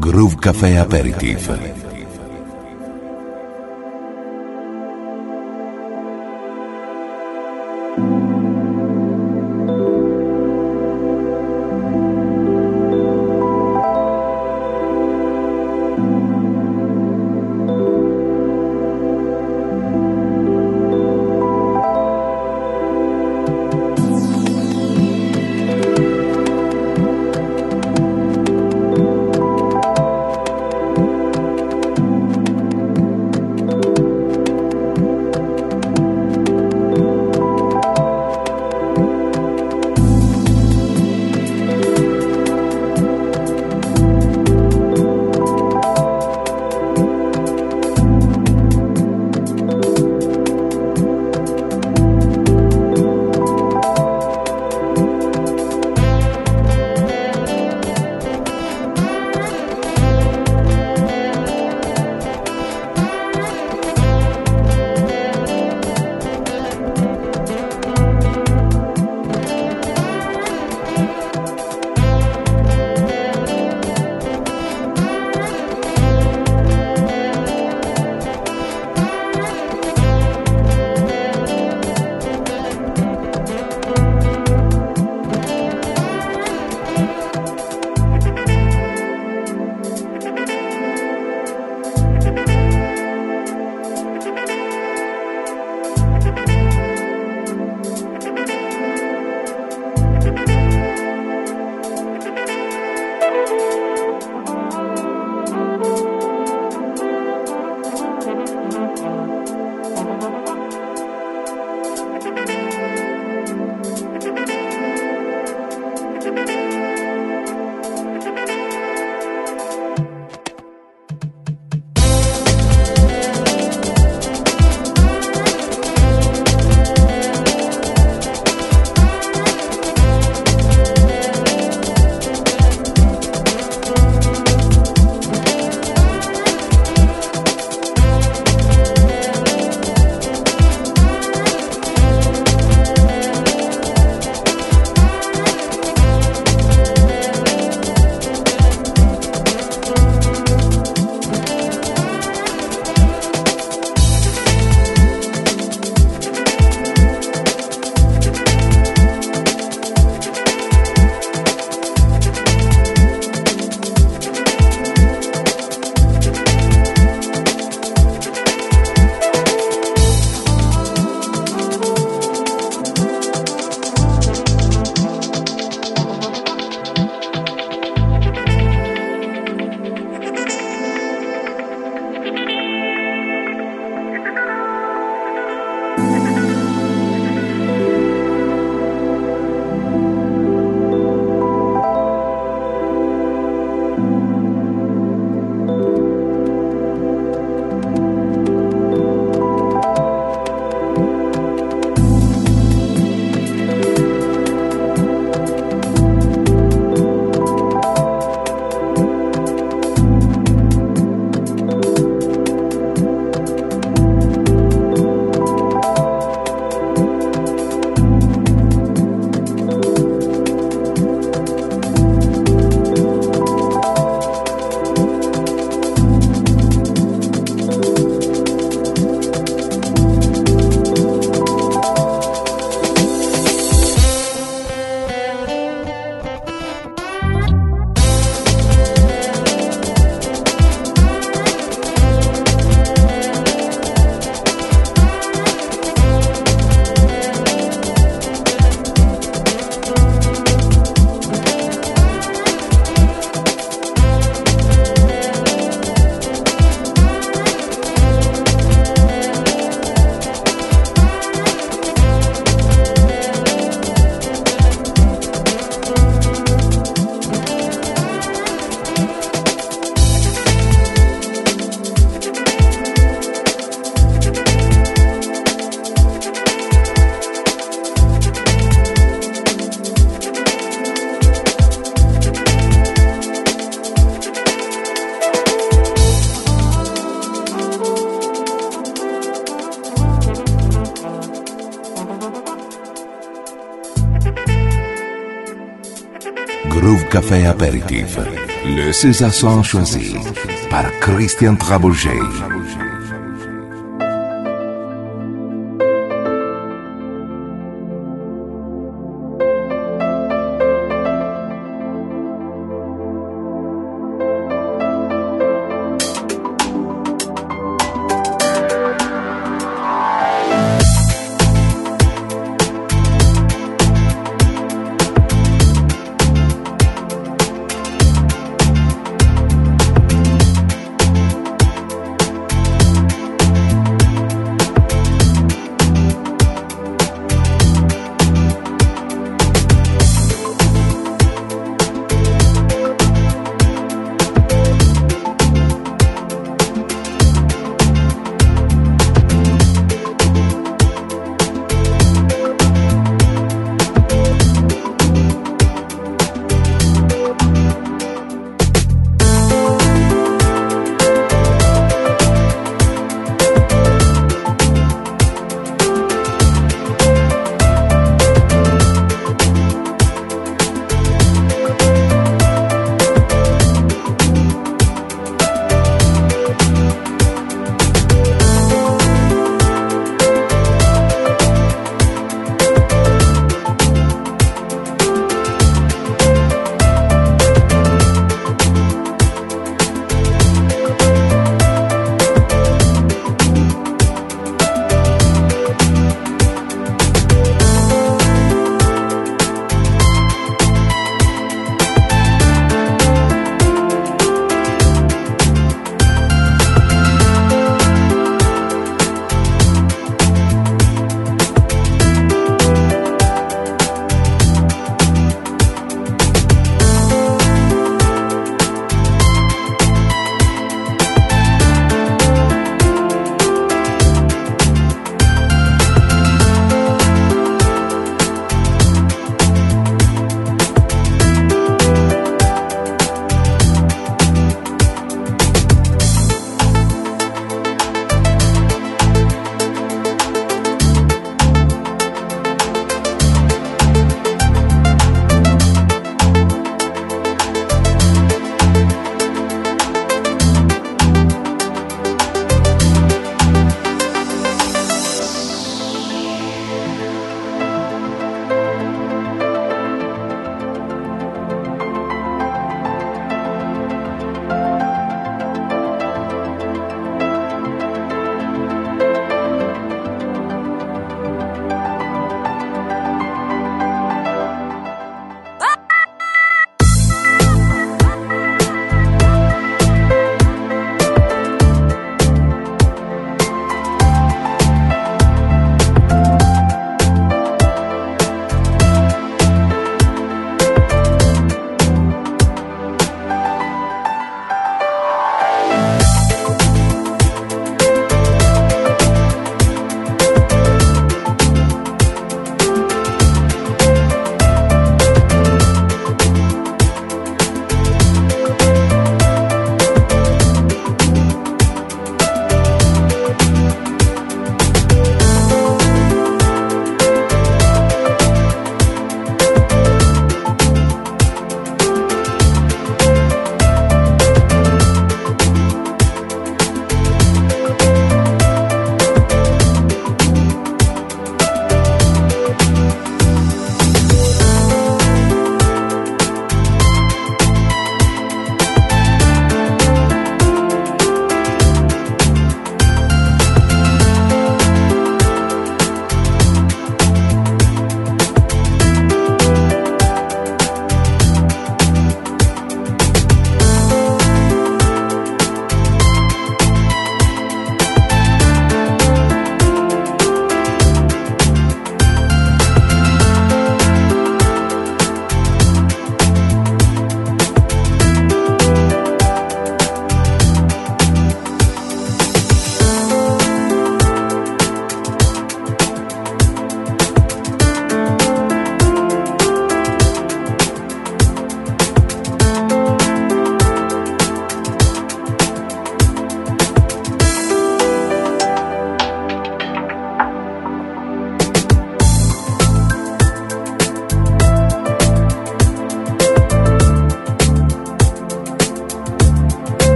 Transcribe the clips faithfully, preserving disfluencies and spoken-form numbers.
Groove Café Aperitif. Groove Café Aperitif. Le César Son choisi par Christian Trabouget.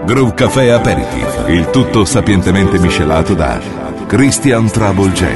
Groove Café Aperitif, il tutto sapientemente miscelato da Christian Trouble J.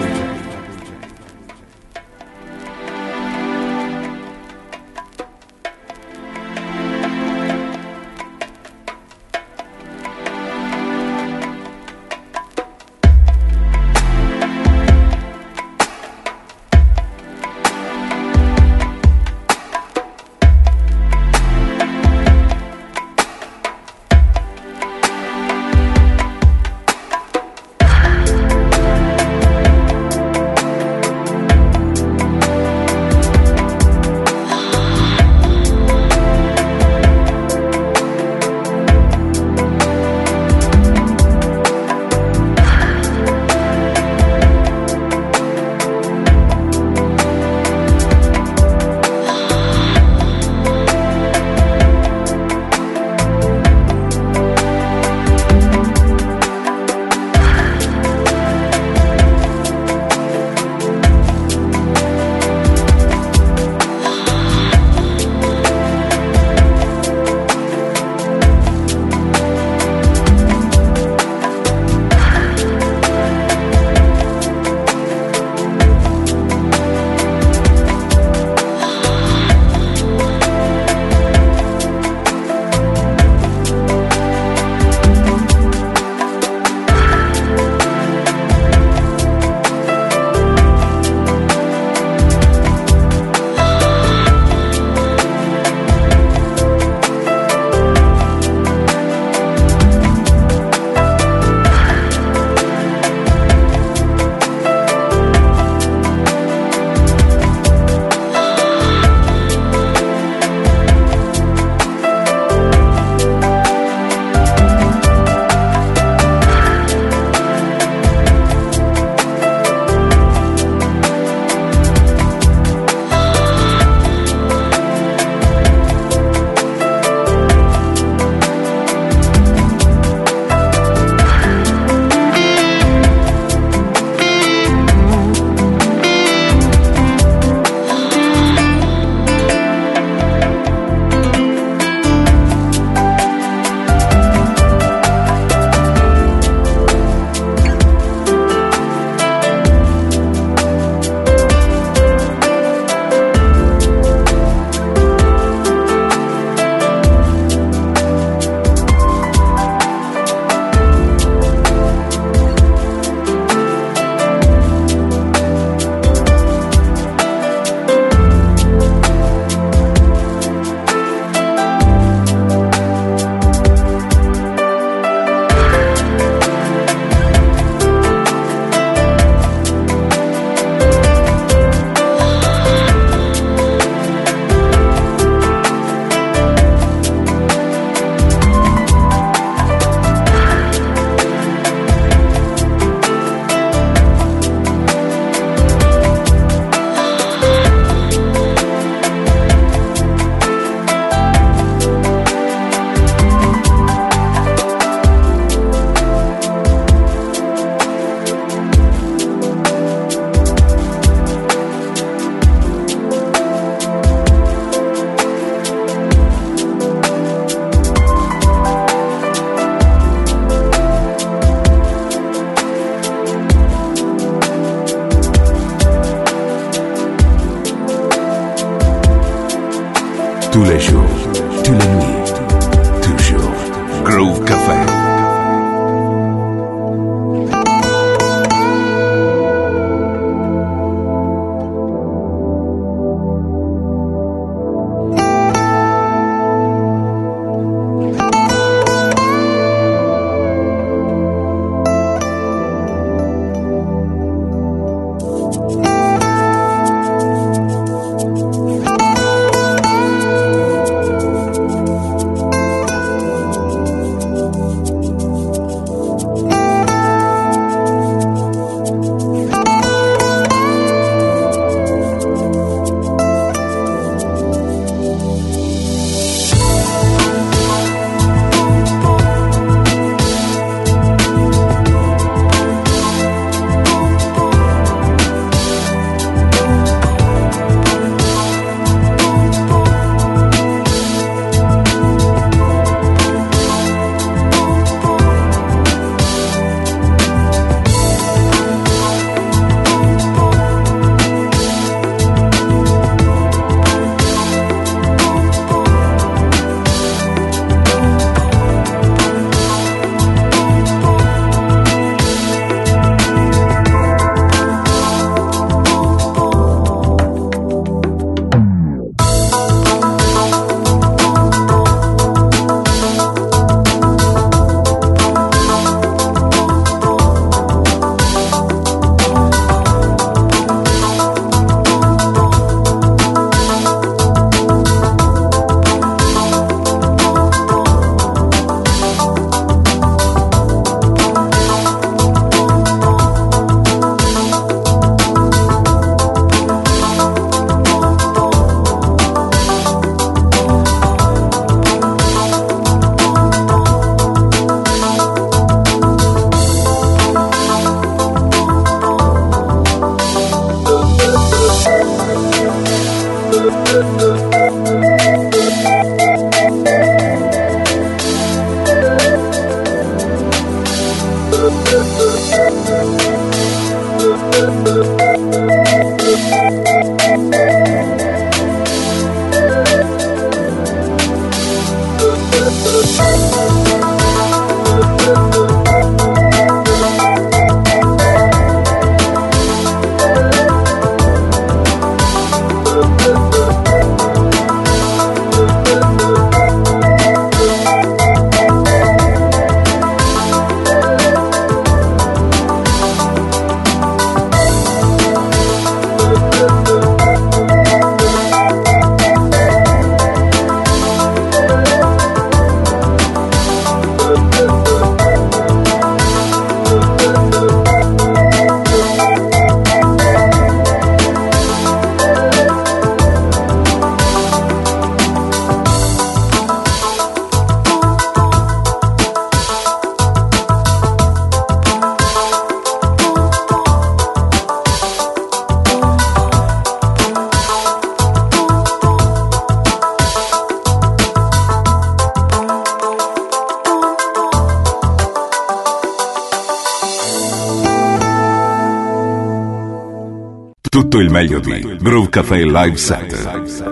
Tous les jours, tous les nuits, toujours. Groove Café. Tutto il meglio di Groove Café Live Set.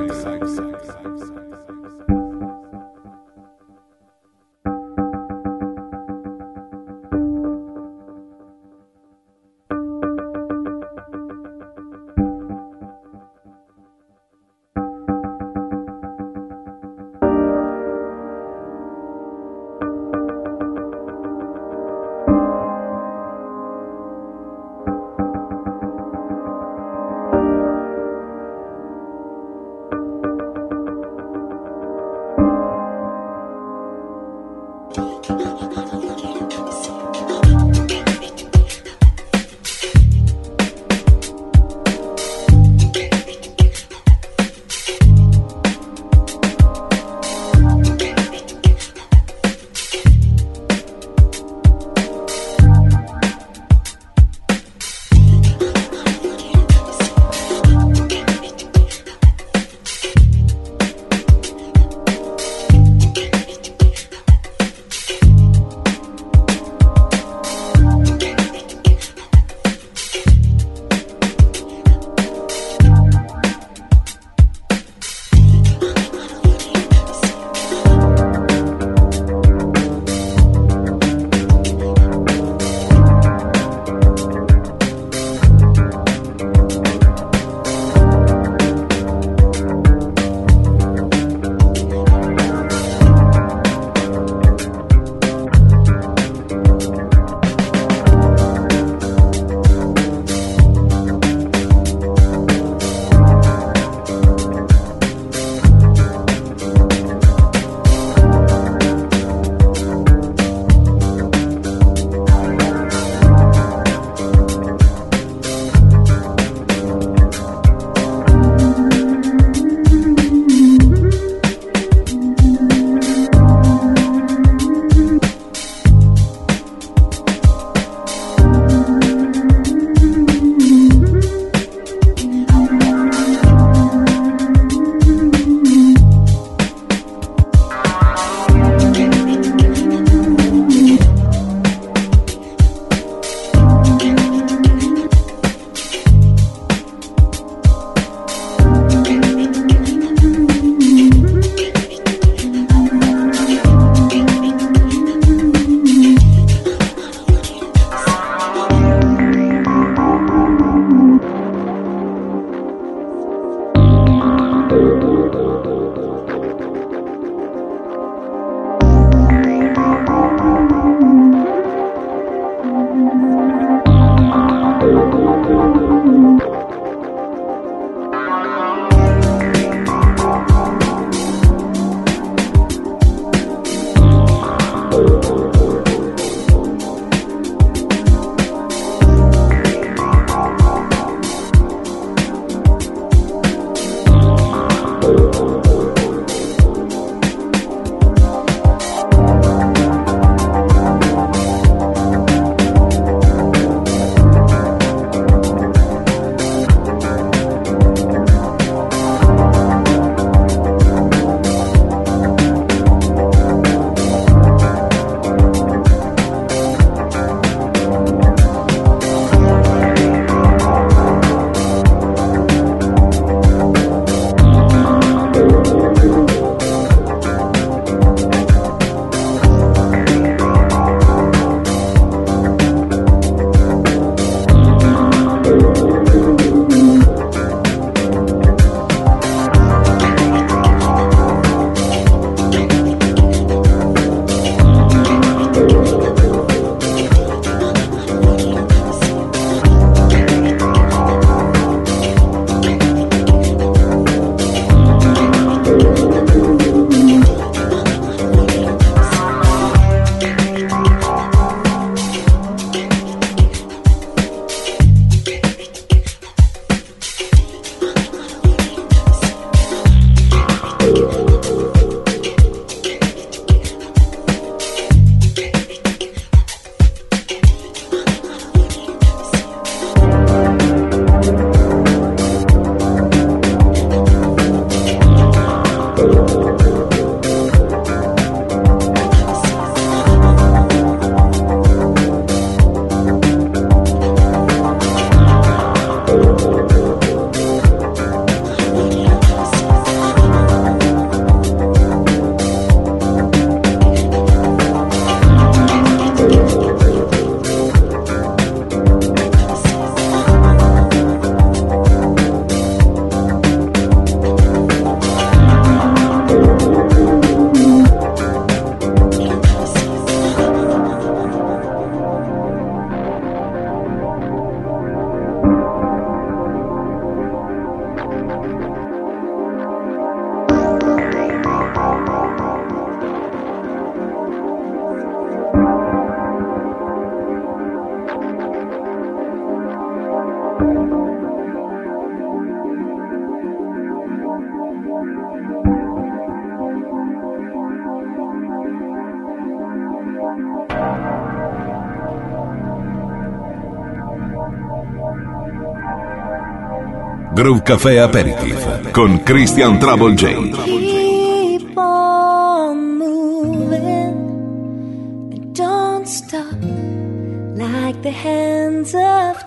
Groove Café Aperitif con Christian Trouble J. Keep on moving and don't stop like the hands of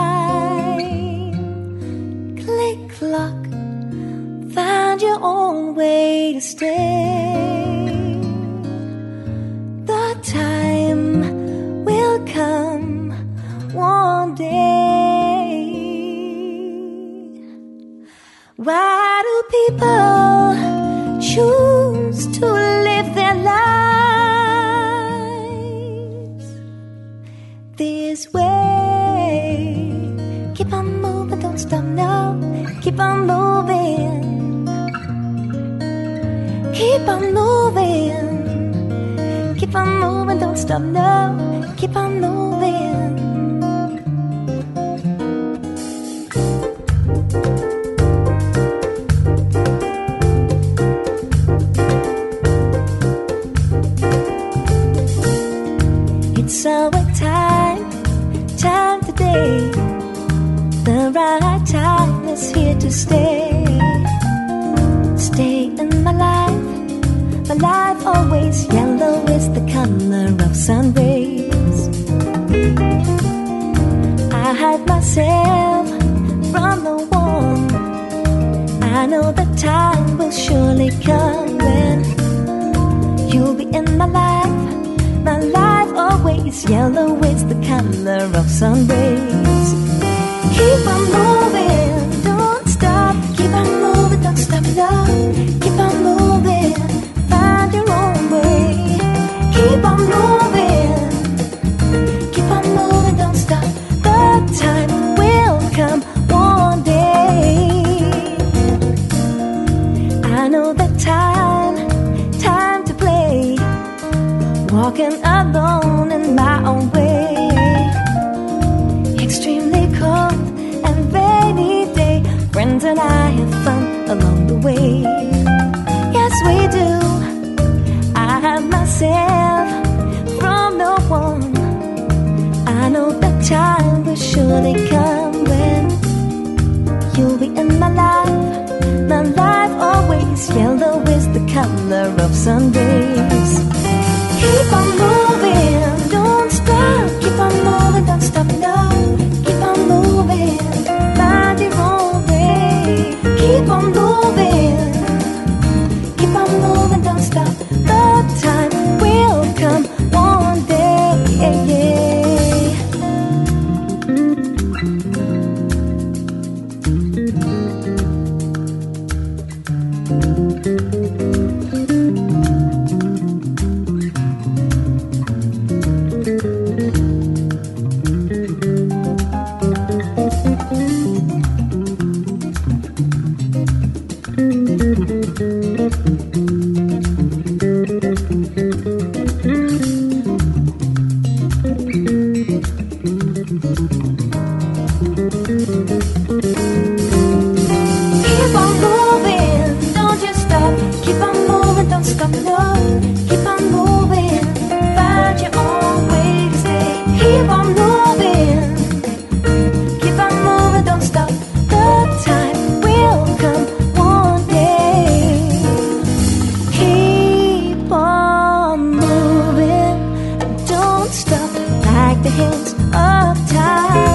time. Click clock, find your own way to stay. The time will come one day. Why do people choose to live their lives this way? Keep on moving, don't stop now. Keep on moving. Keep on moving. Keep on moving, don't stop now. Keep on moving. It's our time, time today. The right time is here to stay. Stay in my life, my life always yellow is the color of sun rays. I hide myself from the warm. I know the time will surely come when you'll be in my life. My life always yellow is the color of sun rays. Keep on moving, don't stop. Keep on moving, don't stop, no. Keep on moving, find your own way. Keep on moving, keep on moving, don't stop. The time will come one day. I know the time, time to play. Walking alone in my own way. Extremely cold and rainy day. Friends and I have fun along the way. Yes, we do. I have myself from no one. I know the time will surely come when you'll be in my life. My life always yellow is the color of sun rays. Keep on moving, don't stop. Keep on moving, don't stop, no. Keep on moving, find your own way. Keep on moving, keep on moving, don't stop. The time will come one day, yeah, yeah. Stop like the hands of time.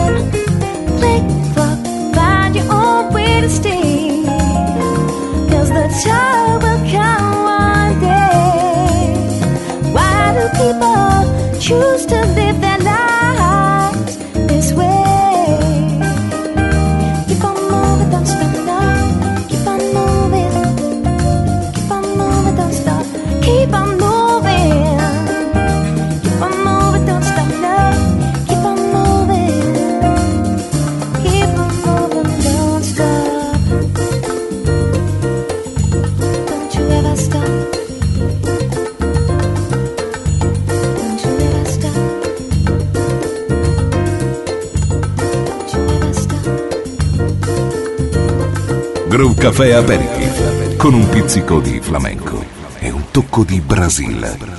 Groove Café Aperitif, con un pizzico di flamenco e un tocco di Brasile.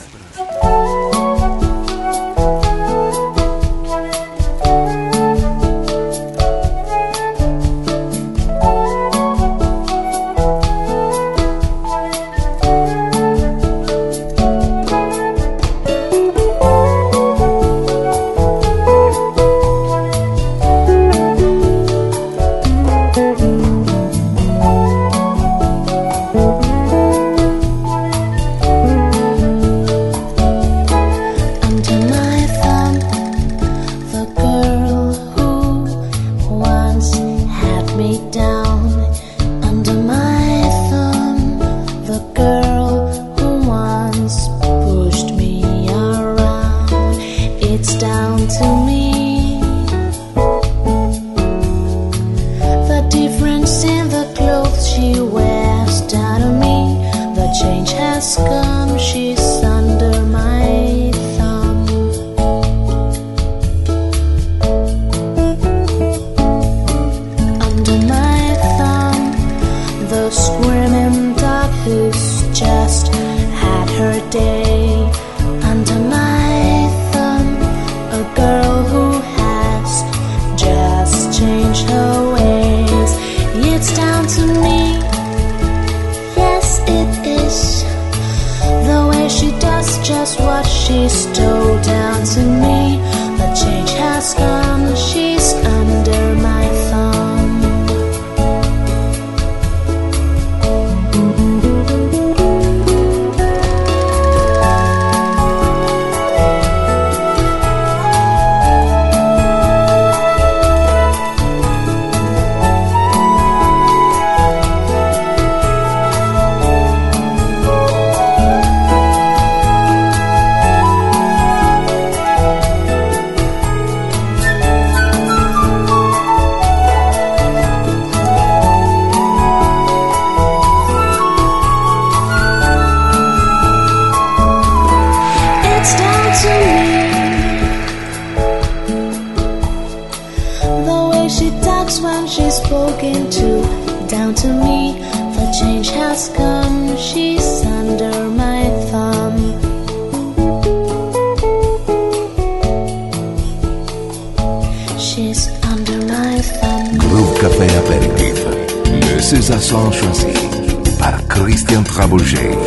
Groove Café Aperitif, le César son choisi par Christian Trabouget.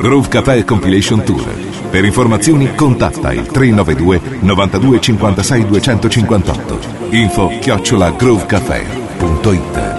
Groove Café Compilation Tour. Per informazioni contatta il tre nove due novantadue cinquantasei duecentocinquantotto. Info chiocciola groovecafé punto it.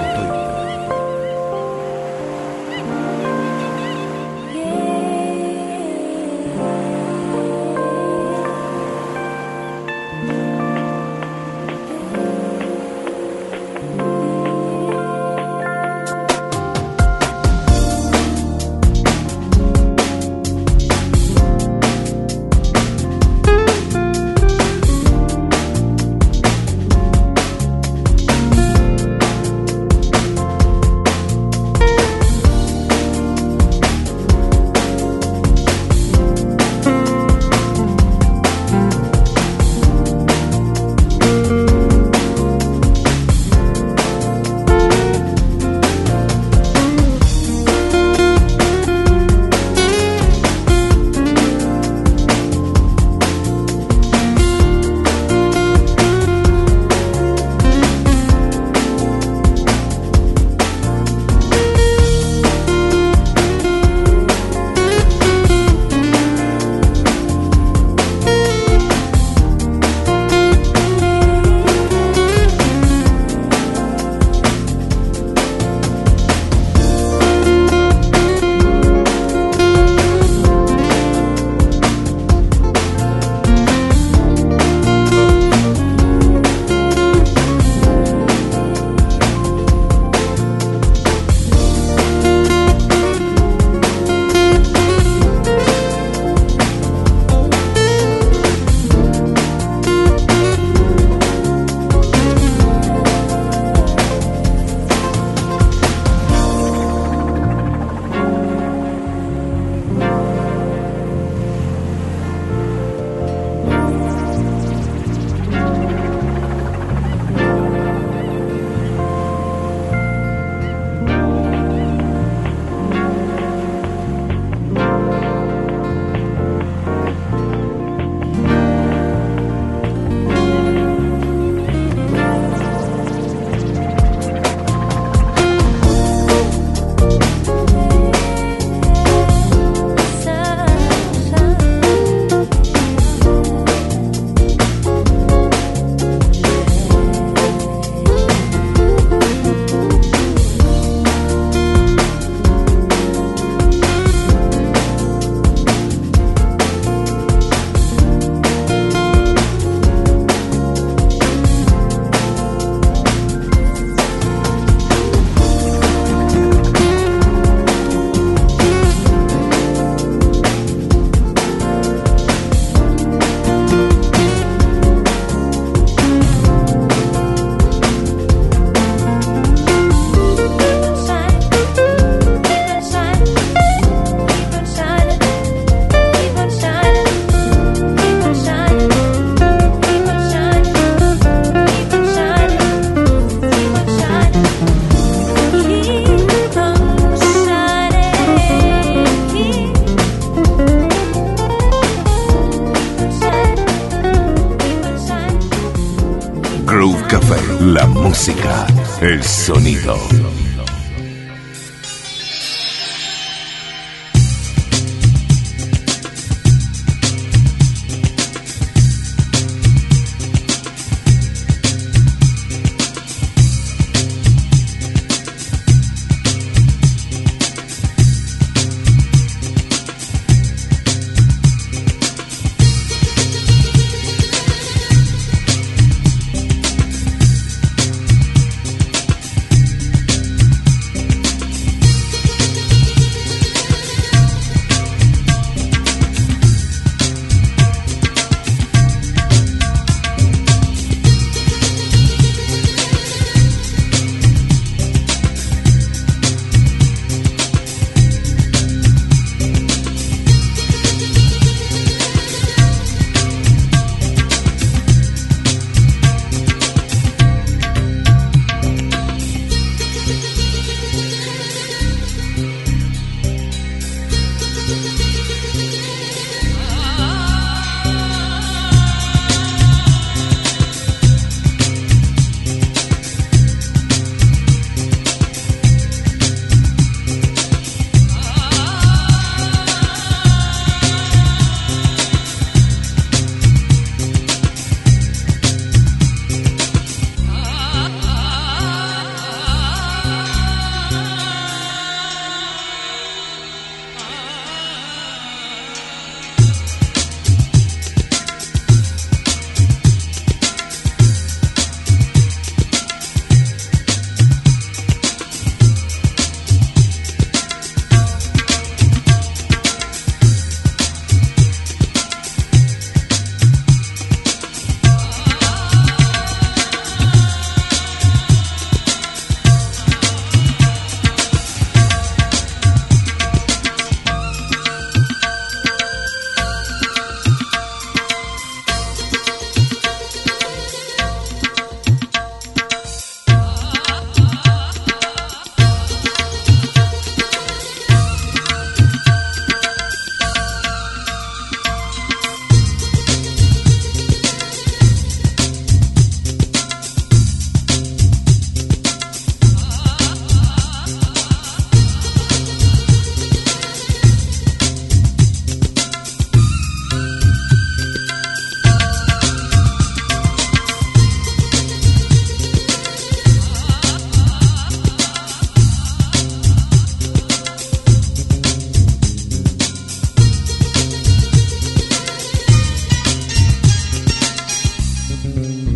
Groove Café, la música, el sonido.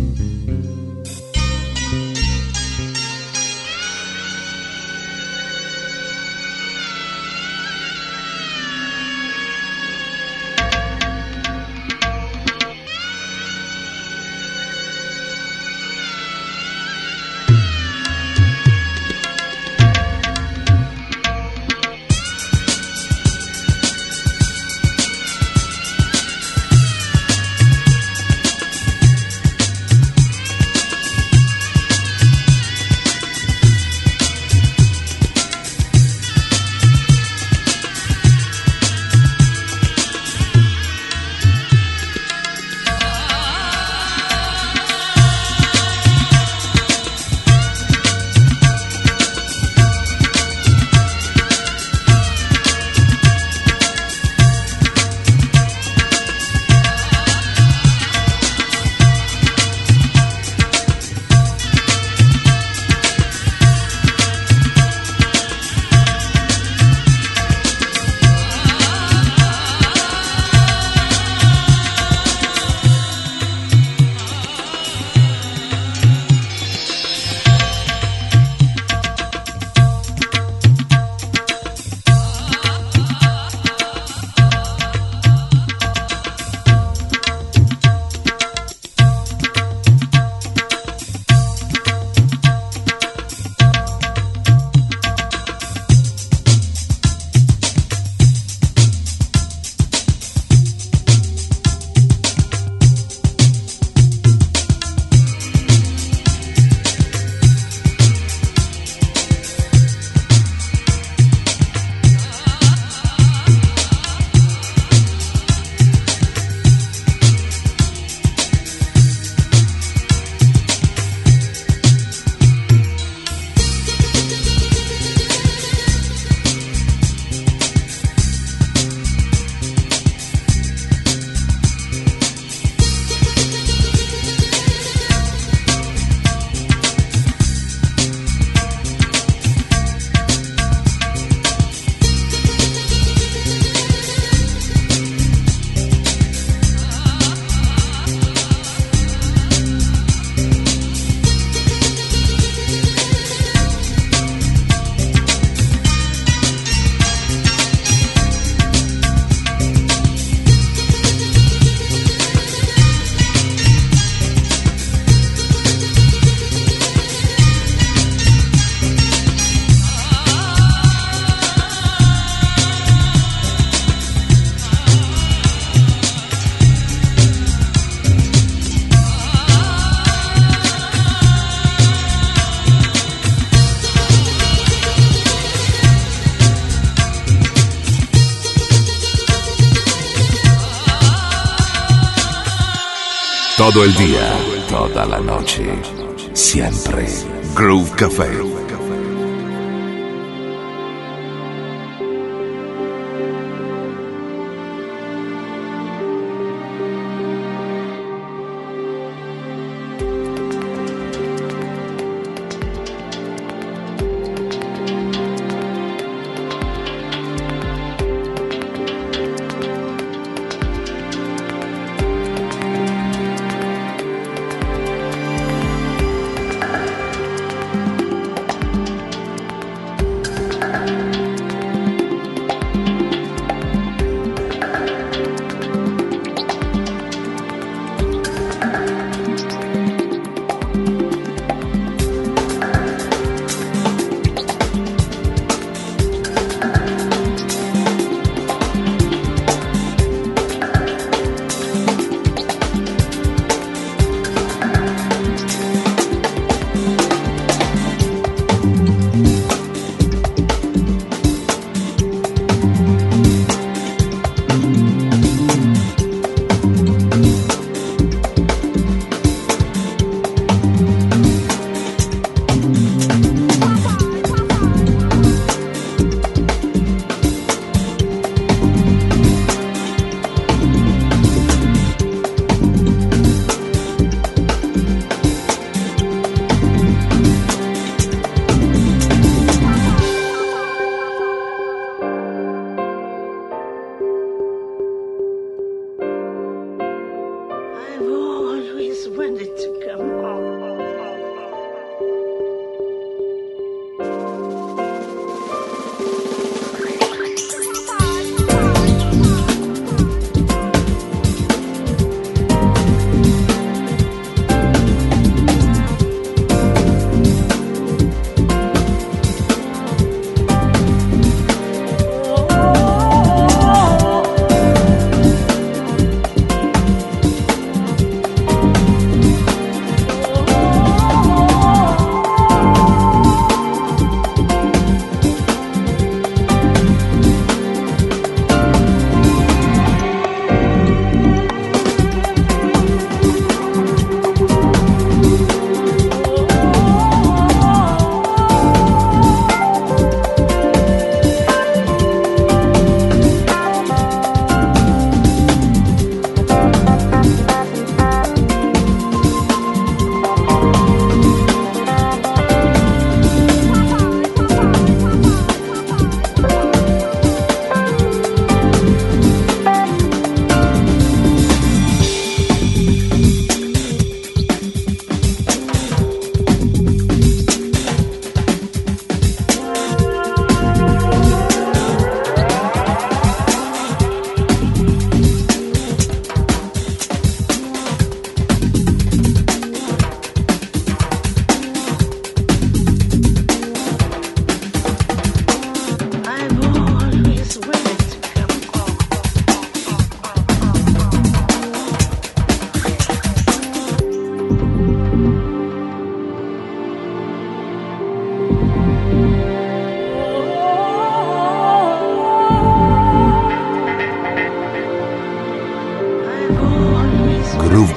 Todo el día, toda la noche, siempre. Groove Café.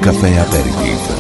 Café Aperitif.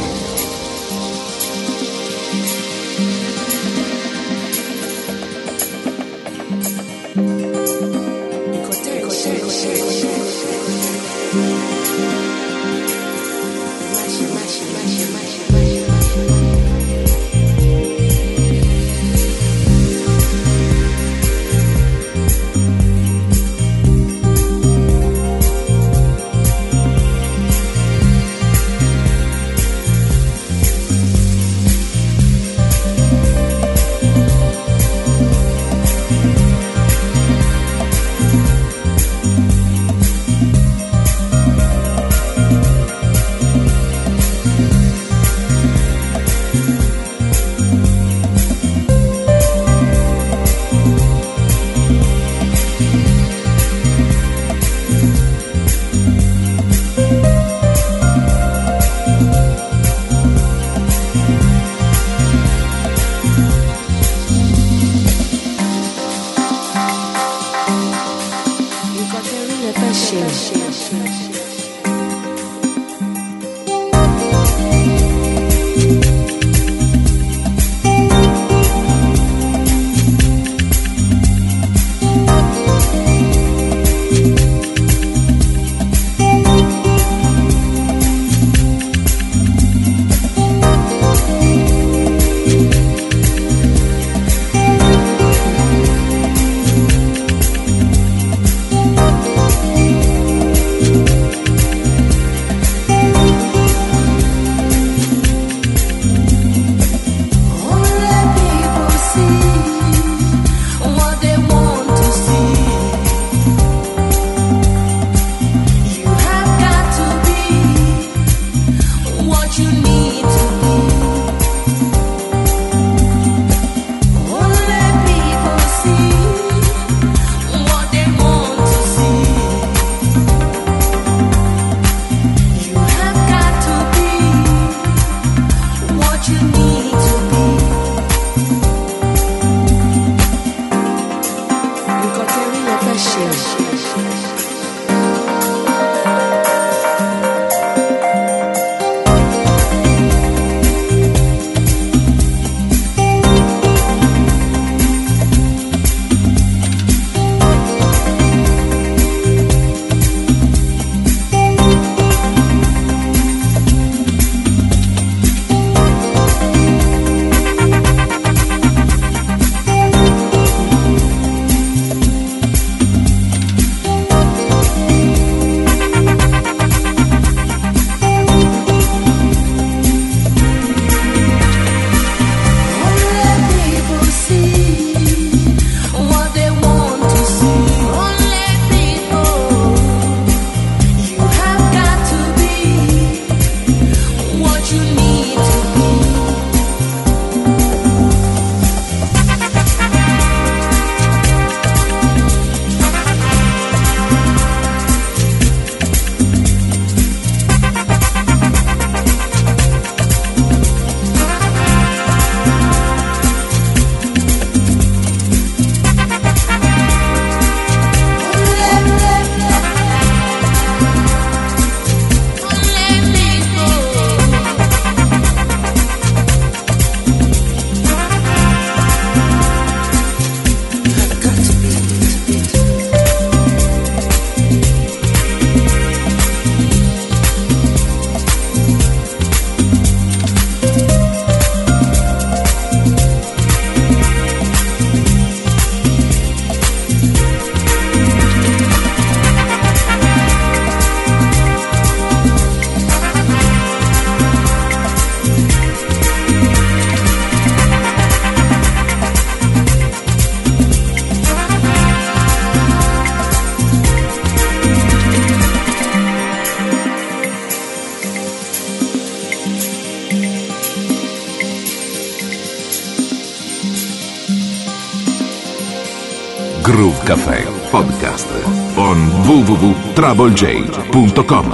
Groove Café Podcast on w w w punto trouble j punto com.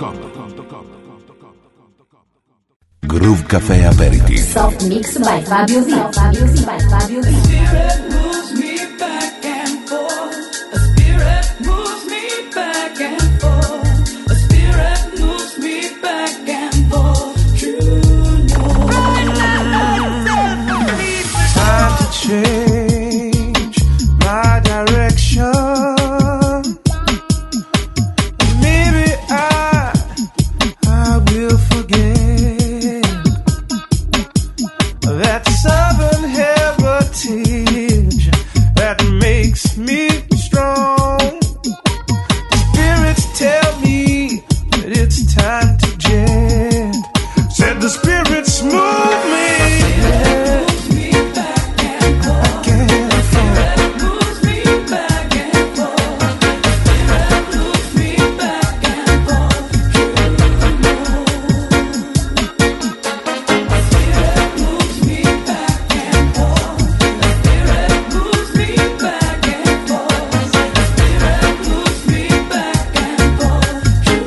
Groove Café Aperitif. Soft mix by Fabio V. Fabio V. By Fabio V. Spirit moves me back and spirits move me. Moves me back and forth. Back and forth. Moves me back and forth. Moves me back and forth. Moves me back and forth. Moves me back and forth. Moves me back and forth.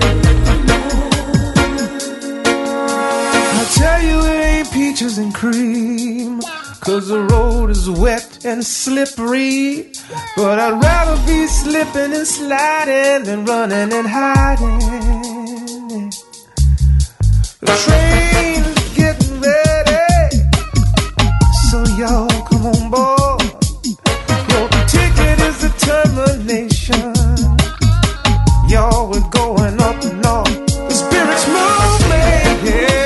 I tell you it ain't peaches and cream, 'cause the road is wet and slippery. But I'd rather be slipping and sliding than running and hiding. The train is getting ready, so y'all come on board. Your ticket is determination. Y'all we're going up north. The spirits move me, yeah.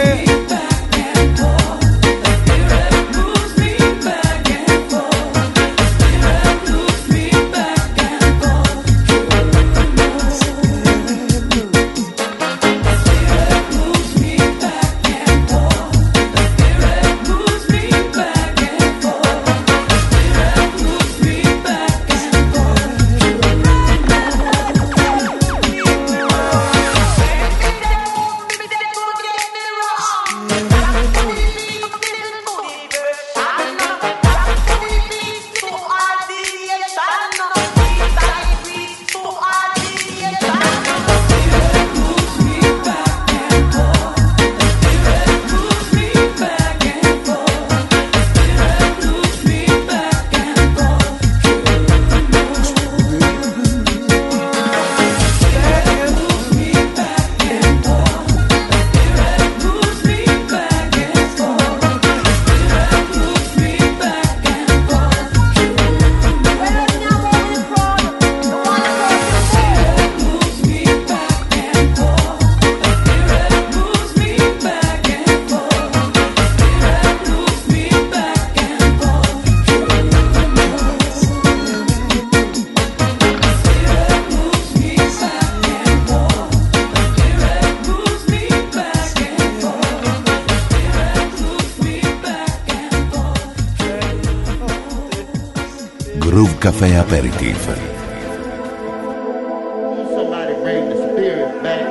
Groove Café Aperitif. Somebody bring the spirit back.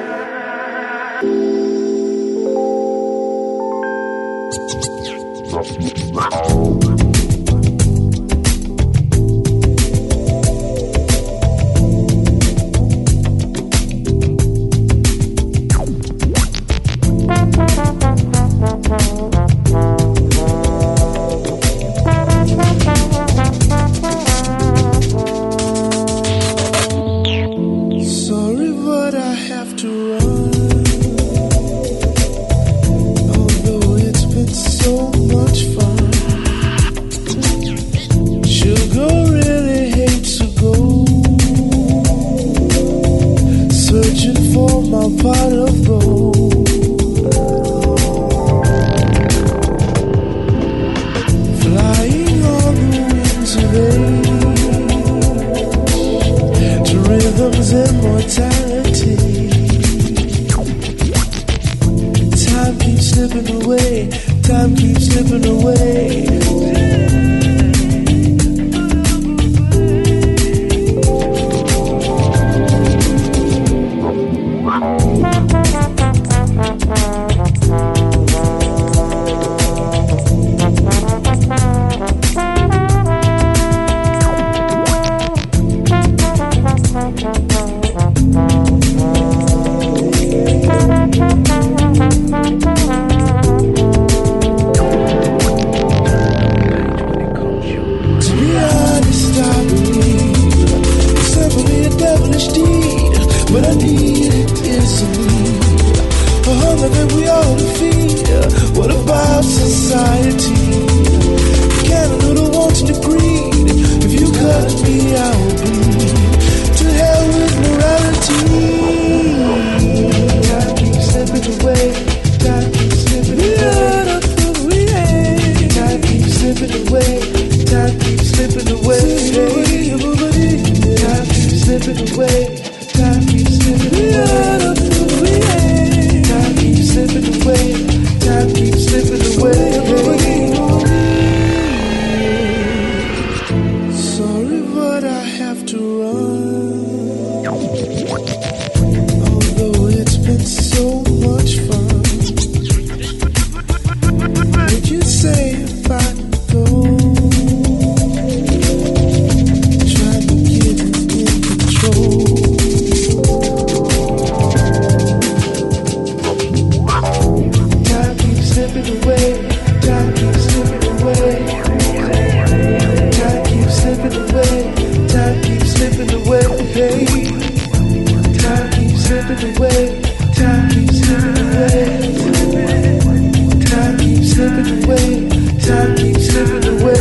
time keeps slipping away.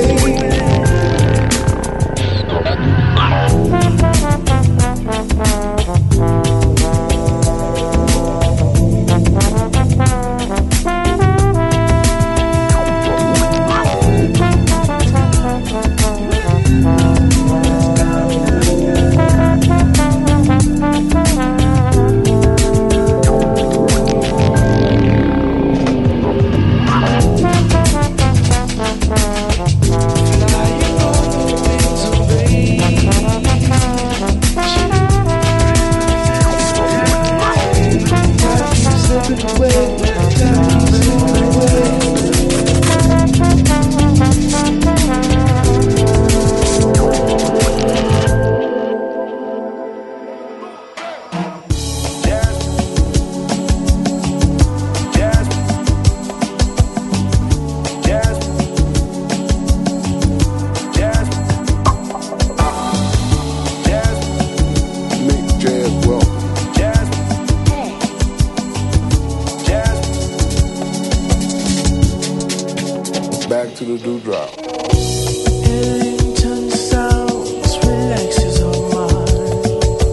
Back to the dewdrop. Ellington sounds relaxes our mind.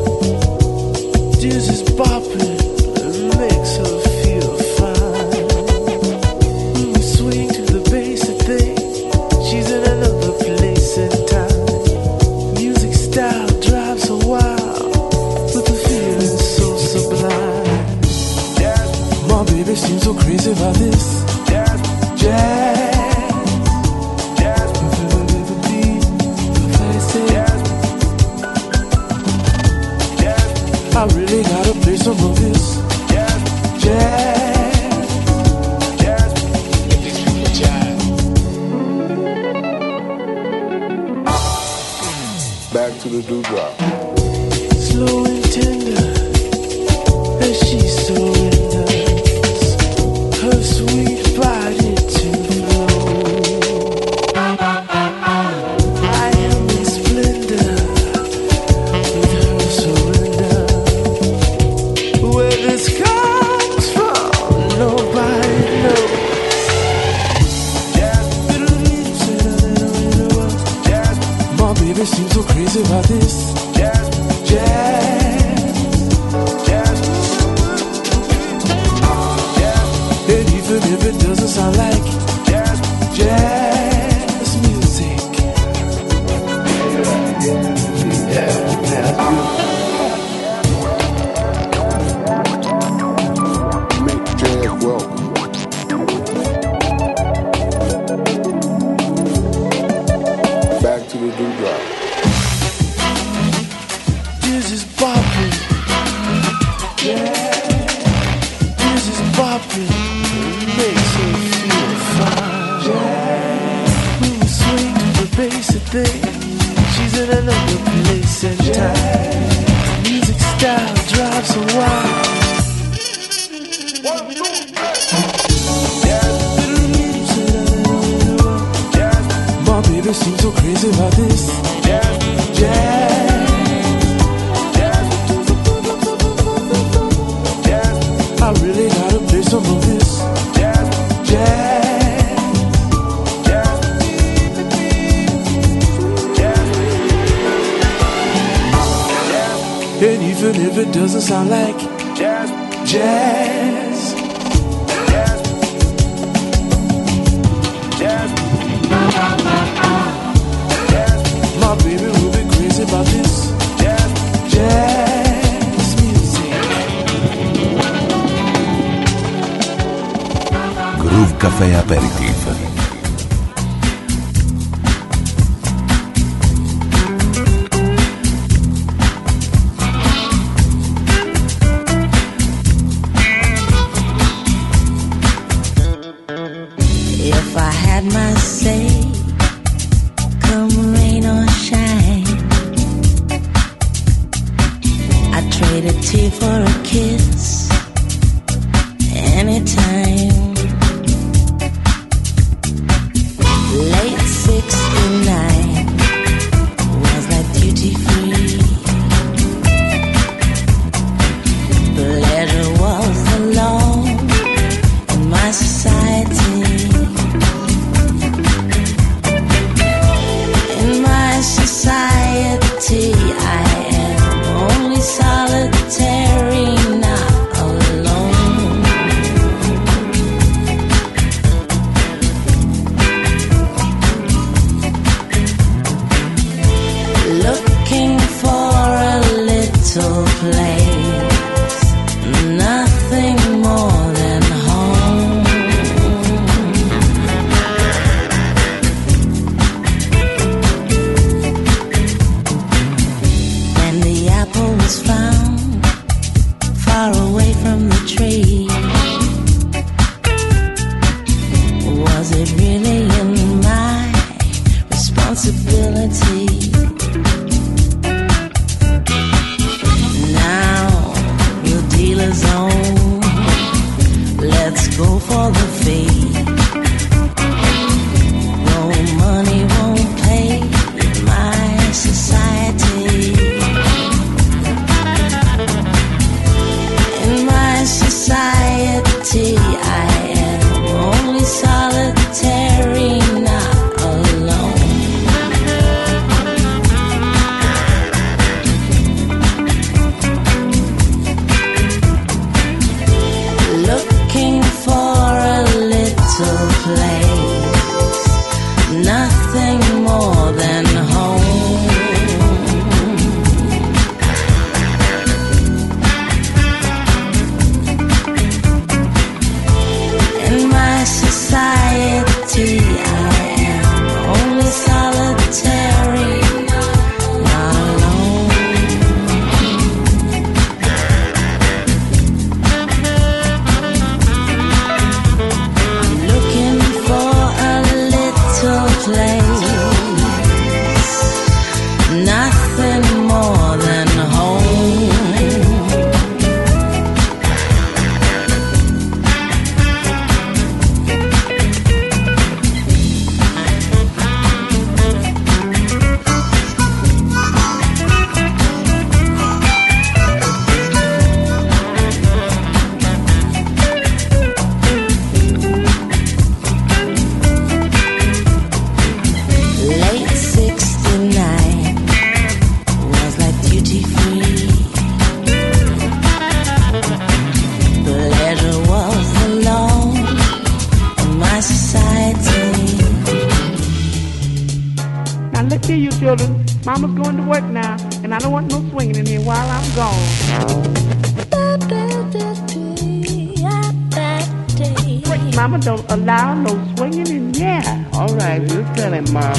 Jesus bopping makes her feel fine. When we swing to the bass, I think she's in another place and time. Music style drives her wild with a feeling so sublime. My baby seems so crazy about this jazz. I really gotta play some of this jazz, jazz, jazz. Back to the dewdrop. Slow and tender as she surrenders her sweet body to flow. I am in splendor with her surrender. Where this comes from, nobody knows. My baby seems so crazy about this jazz, jazz, jazz, jazz. And even if it doesn't sound like jazz, jazz music. Make jazz welcome. Back to the dewdrop. This is bopping, yeah. This is bopping, makes her feel fine. Yeah. When we swing to the bass, I think she's in another place and time. Music style drives her wild. My baby seems so crazy about this jazz, jazz, jazz. I really gotta play some of this jazz, jazz, jazz, jazz. And even if it doesn't sound like jazz, jazz, jazz, jazz. My baby will be crazy about this jazz, jazz music. Groove Café Aperitif. If I had my say, come rain or shine, I'd trade a tear for a kiss anytime. Late sixty-nine was like duty free. Pleasure was the law in my society. Was it really in my responsibility? Now we'll deal a zone. Let's go for the fade. No money won't pay in my society. In my society, I am only solitary, not alone. Looking for a little place, nothing more than home. In my society, I am only solitary, not alone. I'm looking for a little place, nothing more than home. Late sixty-nine was like duty free. Pleasure was the law in my society. Now look here, you children. Mama's going to work now, and I don't want no swinging in here while I'm gone. Mama don't allow no swinging in here. All right, we'll tell him, Mom.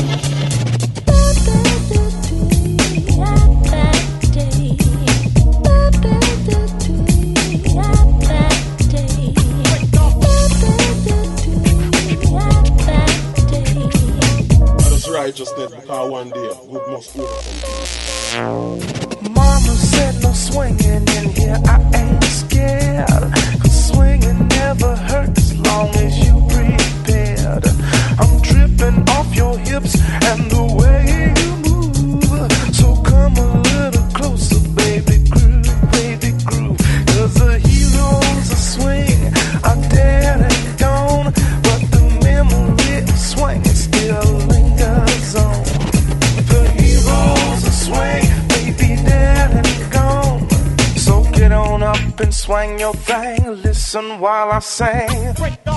That's righteousness, because one day good must overcome. Mama said no swinging in here, I ain't scared. Cause swinging never hurts as long as you prepared. I'm dripping off your hips and the way you move. So come a little closer, baby groove, baby groove. Cause the heroes of swing are dead and gone, but the memory of swing still lingers on. The heroes of swing may be dead and gone, so get on up and swing your thing. Listen while I sing.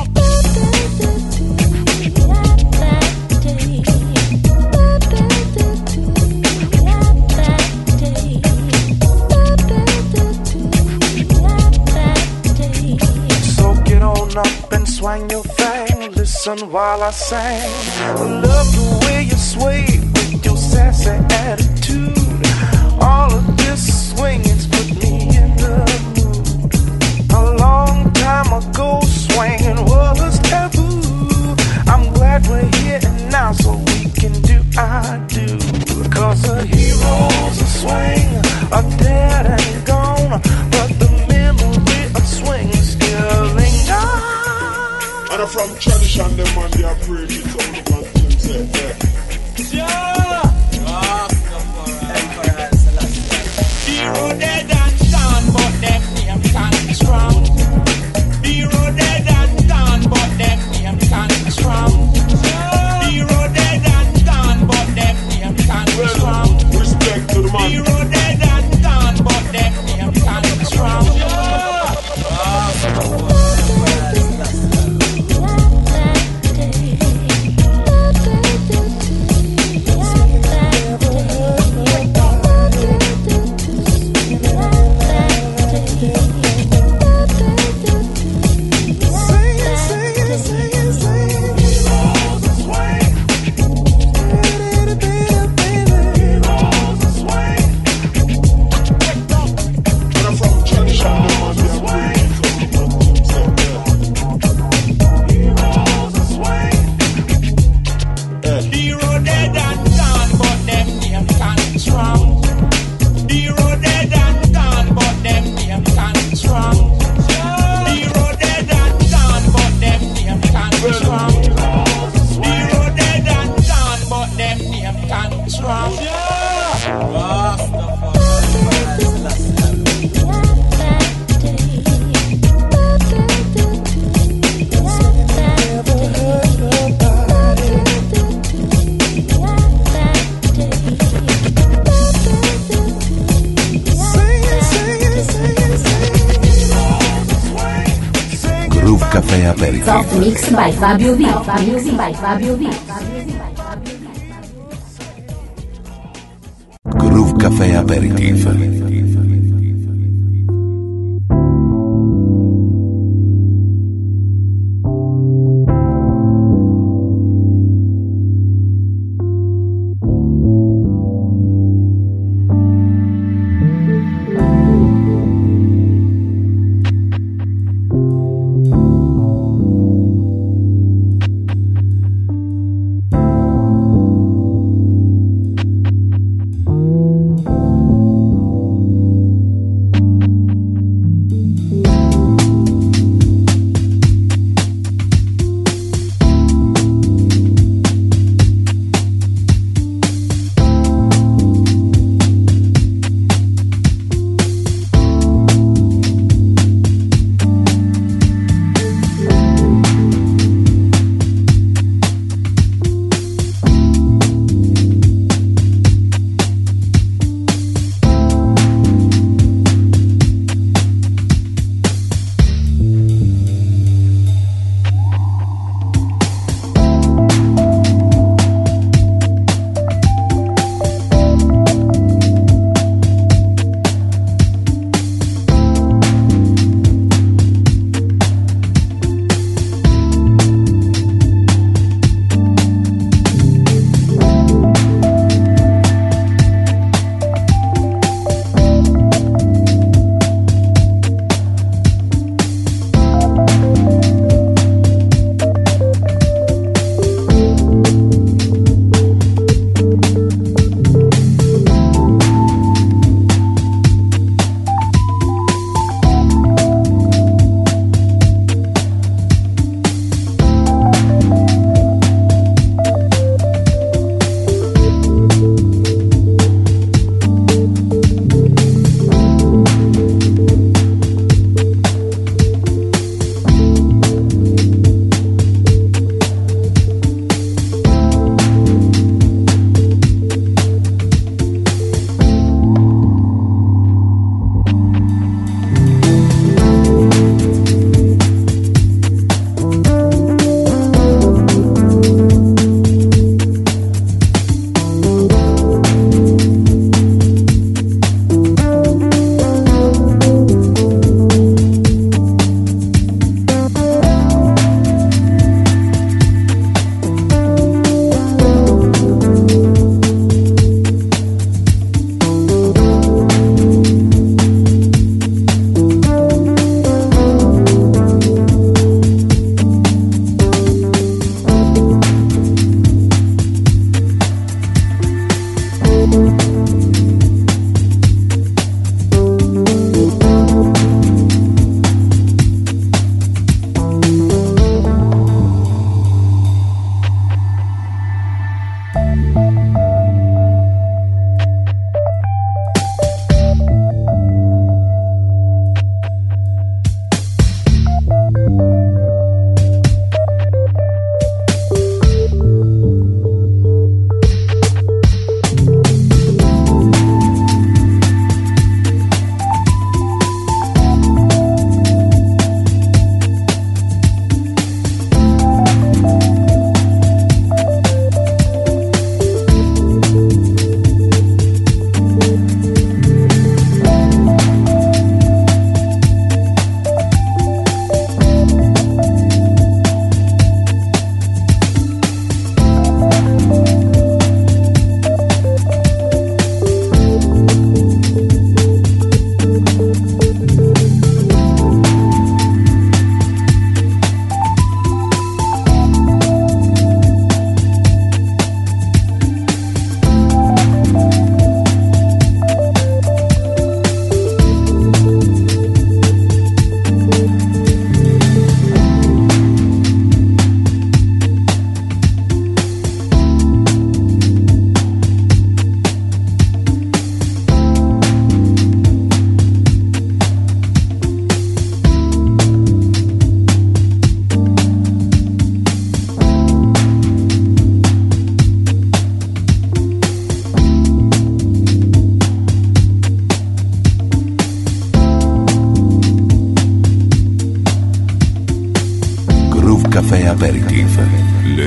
So get on up and swing your thing. Listen while I sing. I love the way you sway with your sassy attitude. All of this swinging's put me in the mood. A long time ago, swinging was taboo. I'm glad we're here and now, so we can do our do. Cause the heroes of swing are dead and gone, but the memory of swing still lingers. And from tradition, them man, they are brave. It's all the man things say, yeah. Hero dead and gone, but them name can't strong. Hero dead and gone, but them name can't strong. Hero dead and gone, but them name can't strong. Respect to the man. Hero dead and gone, but them name can't strong. Aperitif. Soft Mix by Fabio V. Fabio V. By Fabio V. Groove Café Aperitif.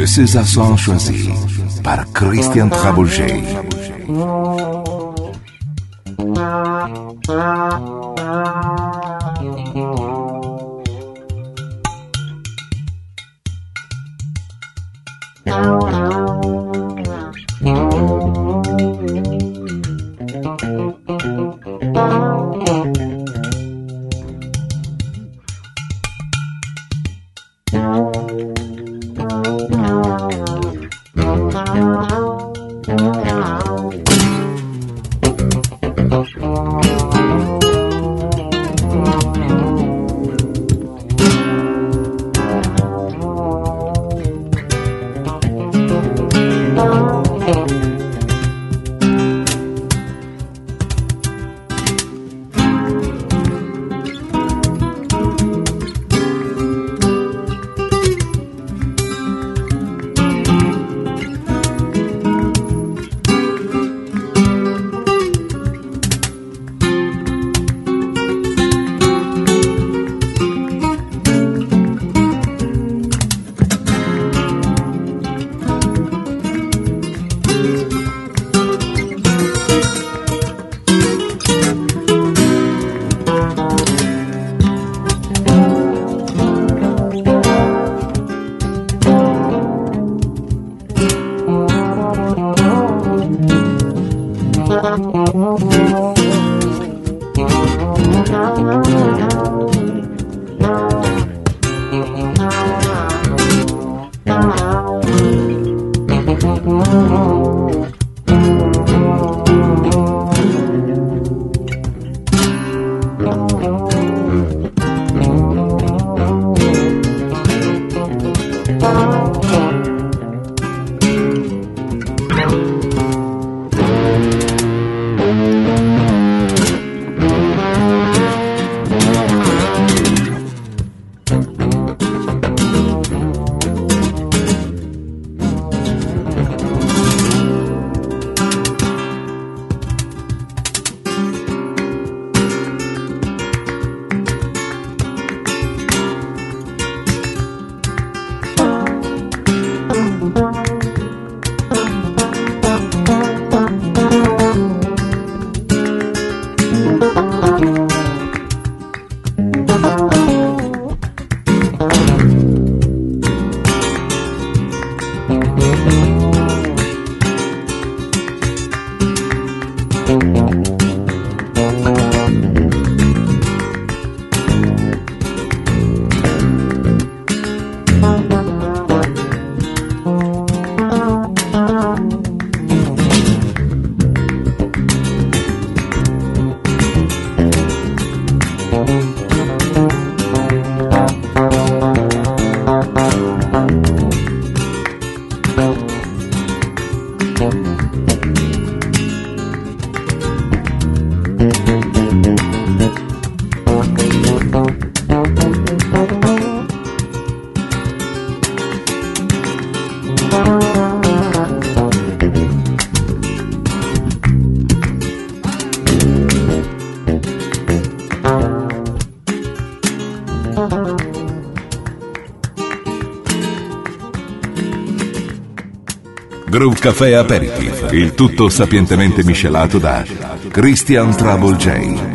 de César Son choisi par Christian Travolgei. Groove Café Aperitif, il tutto sapientemente miscelato da Christian Travolgei.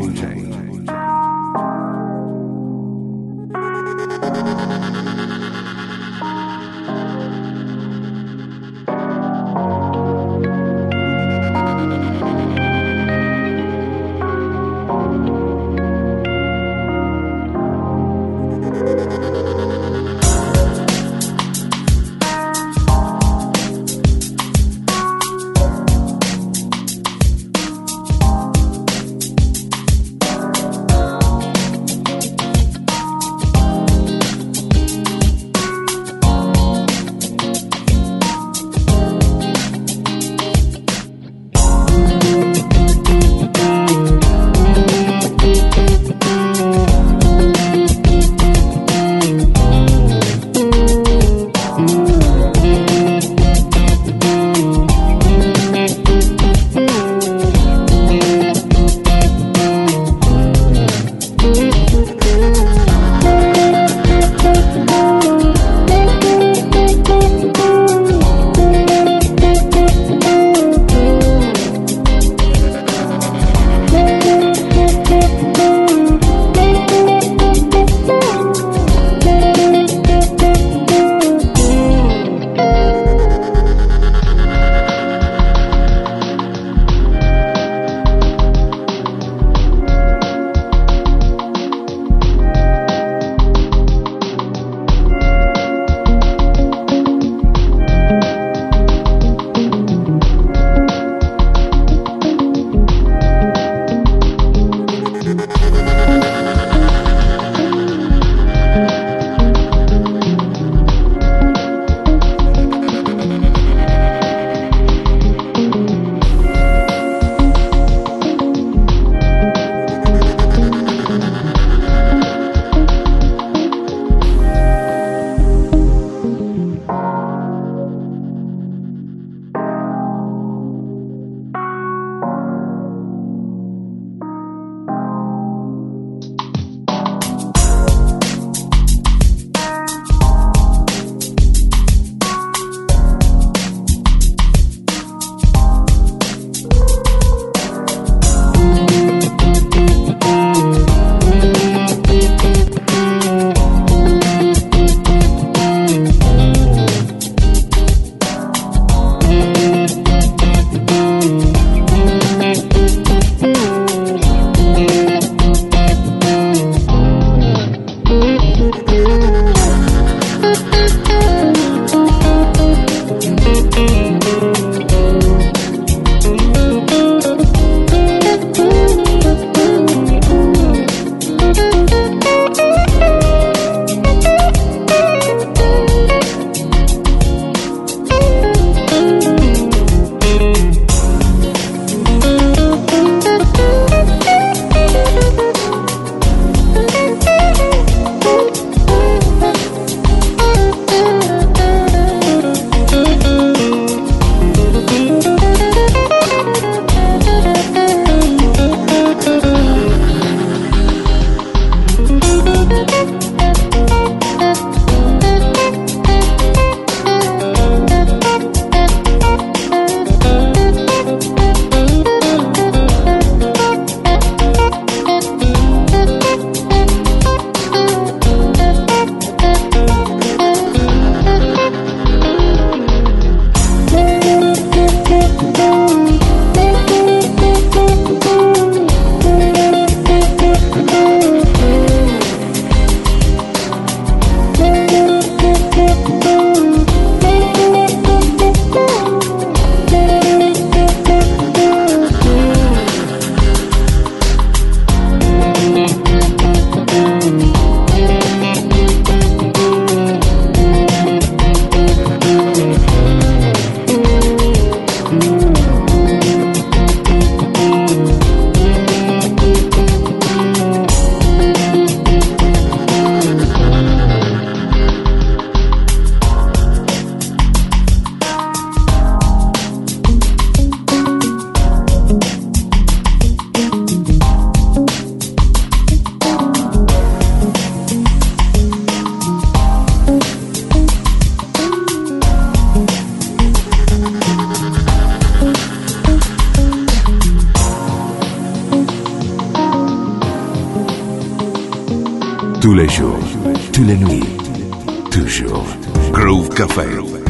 Tous les jours, toutes les nuits, toujours. Groove Café.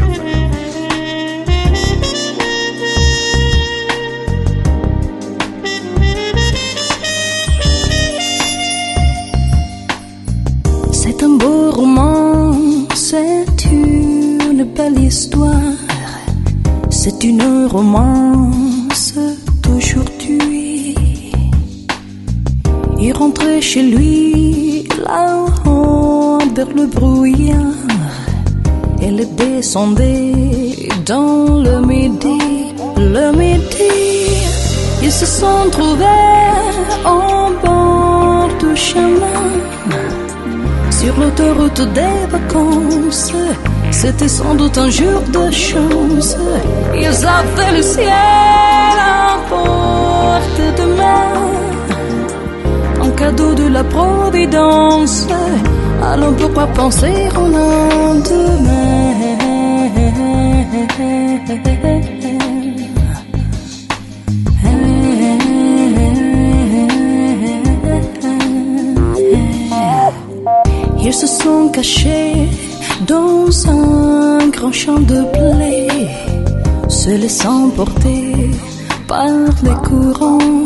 C'est un beau roman, c'est une belle histoire, c'est une romance d'aujourd'hui. Il rentrait chez lui là-haut vers le brouillard, elle descendait dans le midi, le midi. Ils se sont trouvés au bord du chemin, sur l'autoroute des vacances. C'était sans doute un jour de chance. Ils avaient le ciel à portée de main, un cadeau de la Providence. Alors pourquoi penser au lendemain? Ils se sont cachés dans un grand champ de blé, se laissant porter par les courants,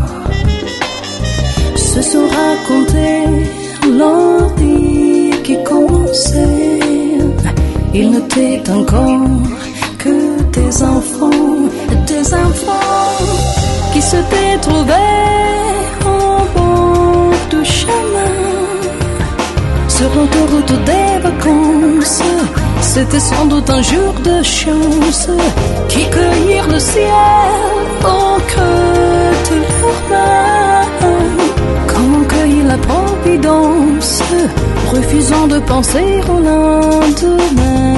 se sont racontés l'envie qui commençait. Ils n'étaient encore que des enfants, des enfants qui s'étaient trouvés au bord du chemin, sur l'autoroute des vacances. C'était sans doute un jour de chance, qui cueillirent le ciel au creux de leurs mains, comme on cueille la providence, refusant de penser au lendemain.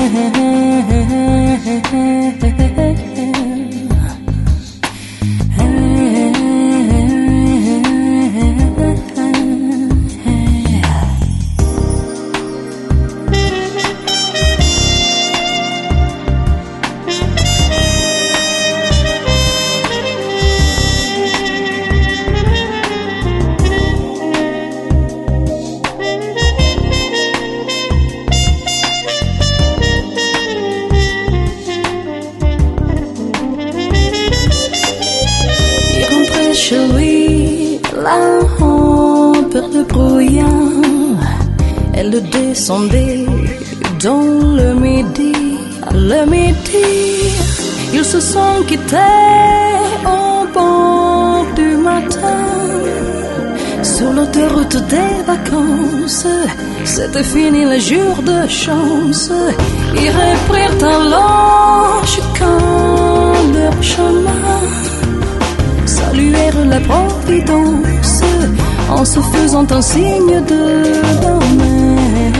Chez lui, là-haut vers le brouillard, elle descendait dans le midi, le midi. Ils se sont quittés au bord du matin, sur l'autoroute des vacances. C'était fini le jour de chance. Ils reprirent alors chacun leur chemin, saluèrent la providence en se faisant un signe de la main.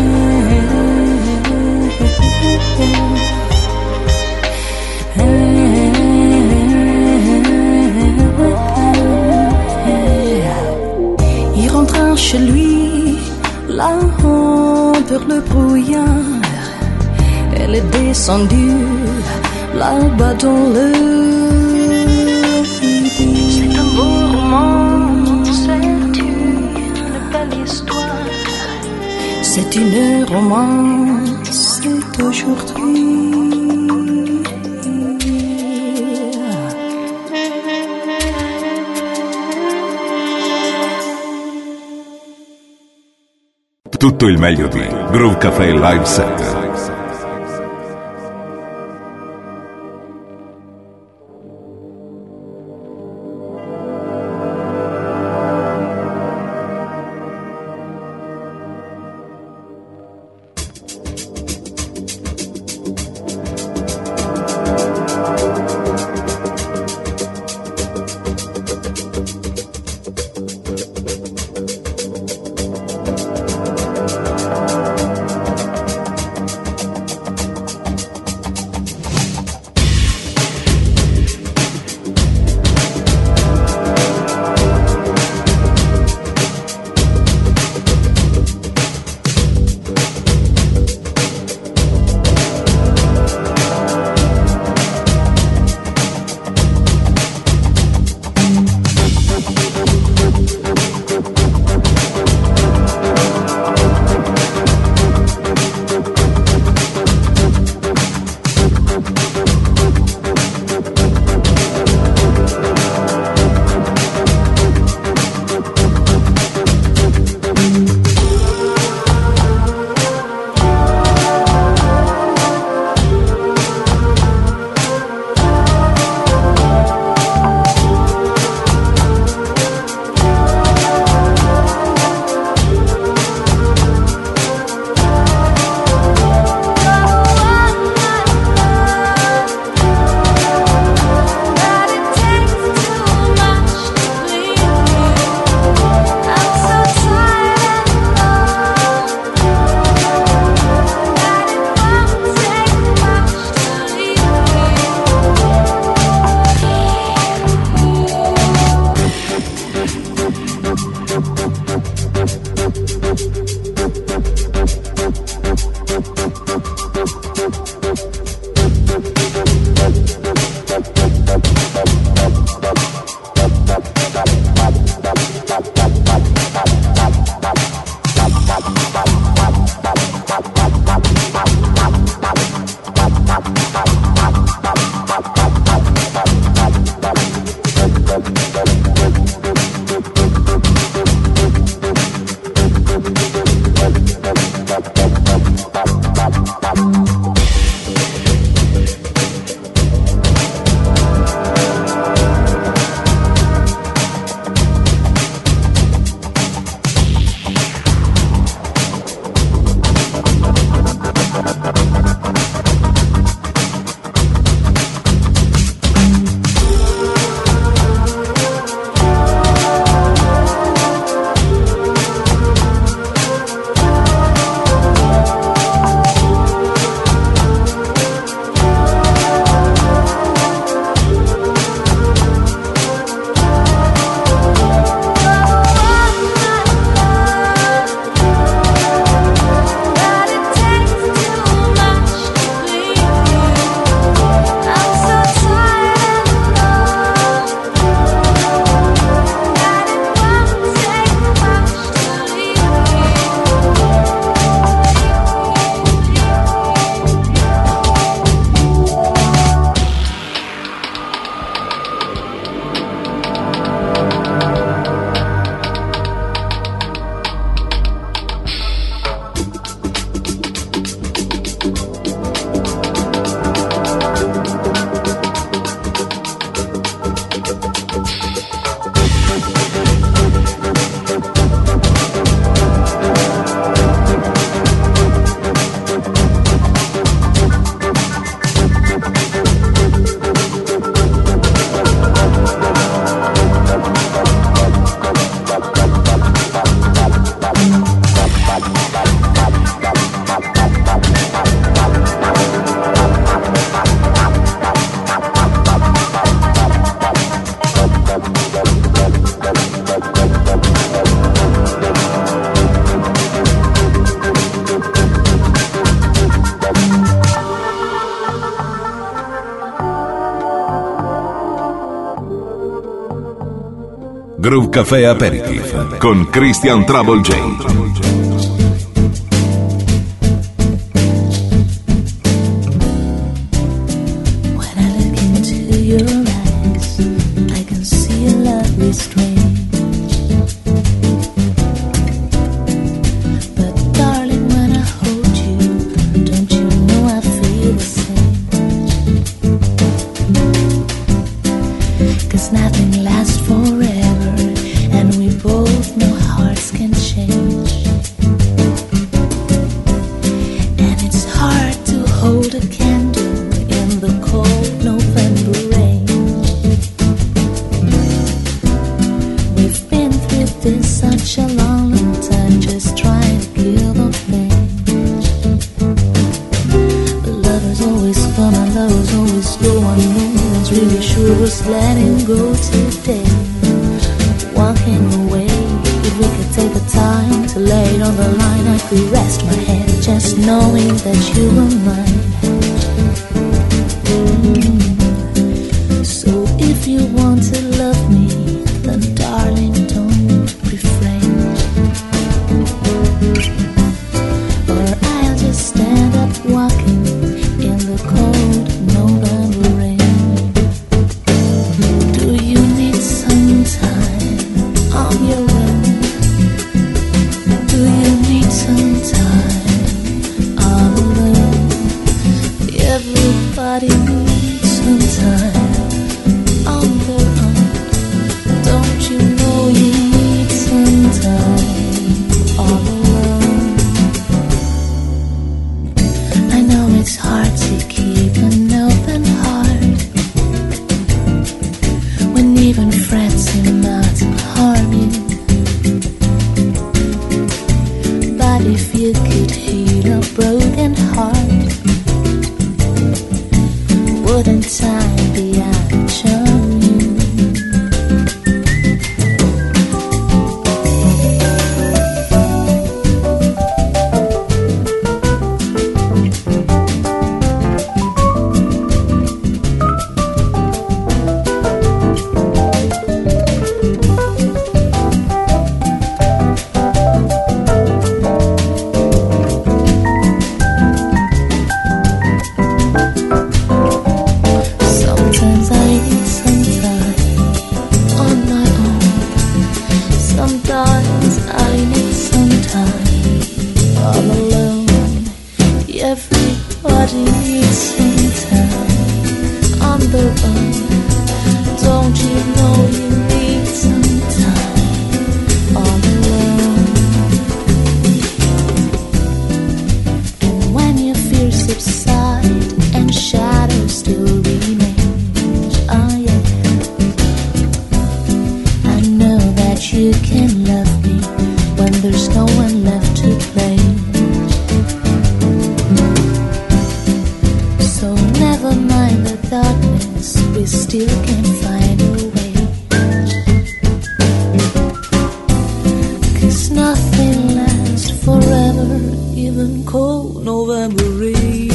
Il rentra chez lui là-haut vers le brouillard, elle est descendue là-bas dans le c'est un beau roman, c'est une belle histoire, c'est une romance d'aujourd'hui. Tutto il meglio di Groove Café Live Set. Groove Café Aperitif con Christian Trouble J. the one. Don't you know you need some time all alone? And when your fears subside and shadows still remain, oh yeah, I know that you can love me when there's no one left to play. So never mind the darkness, we still can find a way. 'Cause nothing lasts forever, even cold November rain.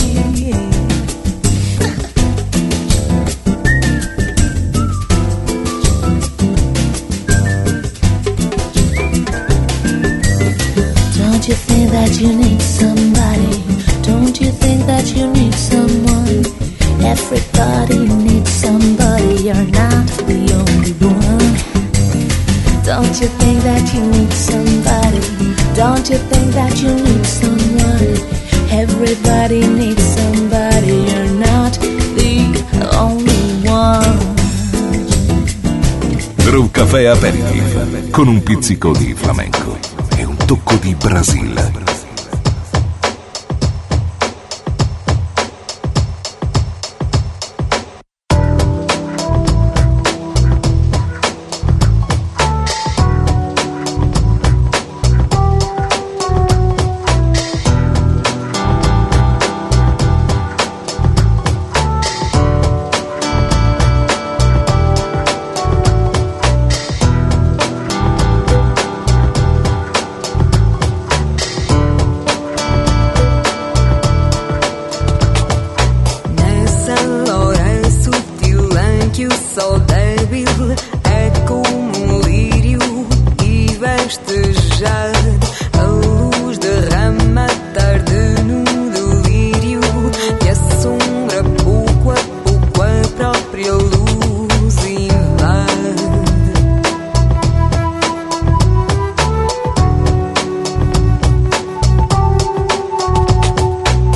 Don't you think that you need somebody? Don't you think that you need someone? Everybody needs somebody, you're not the only one. Don't you think that you need somebody? Don't you think that you need someone? Everybody needs somebody, you're not the only one. Groove Café Aperitif con un pizzico di flamenco e un tocco di Brasile.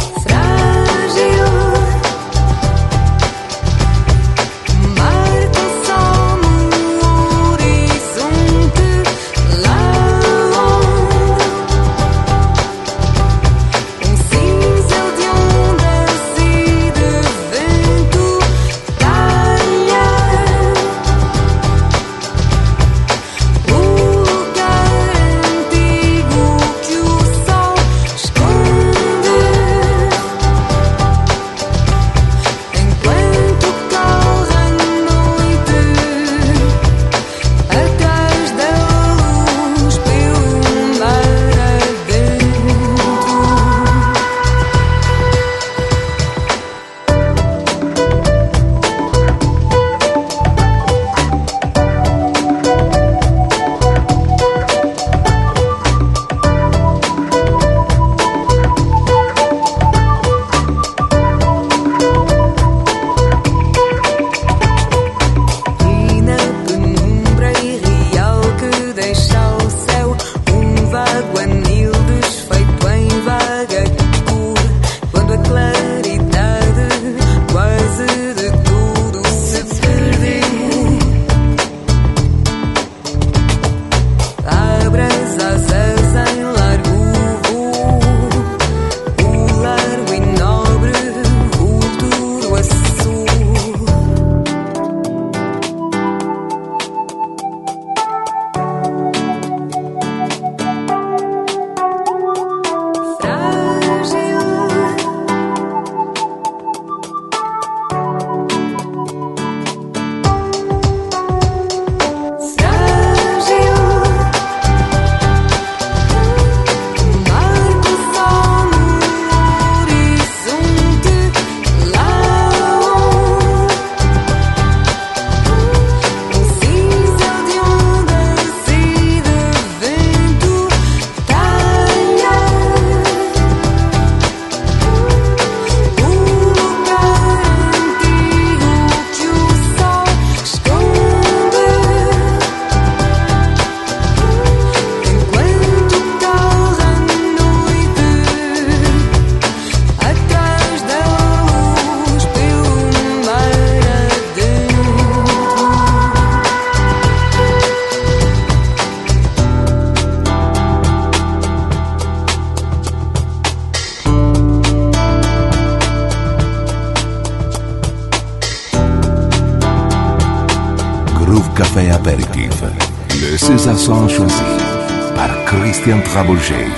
Marta Café Apéritif. Le César son choisi par Christian Trabouget.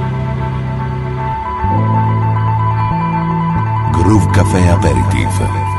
Groove Café Apéritif.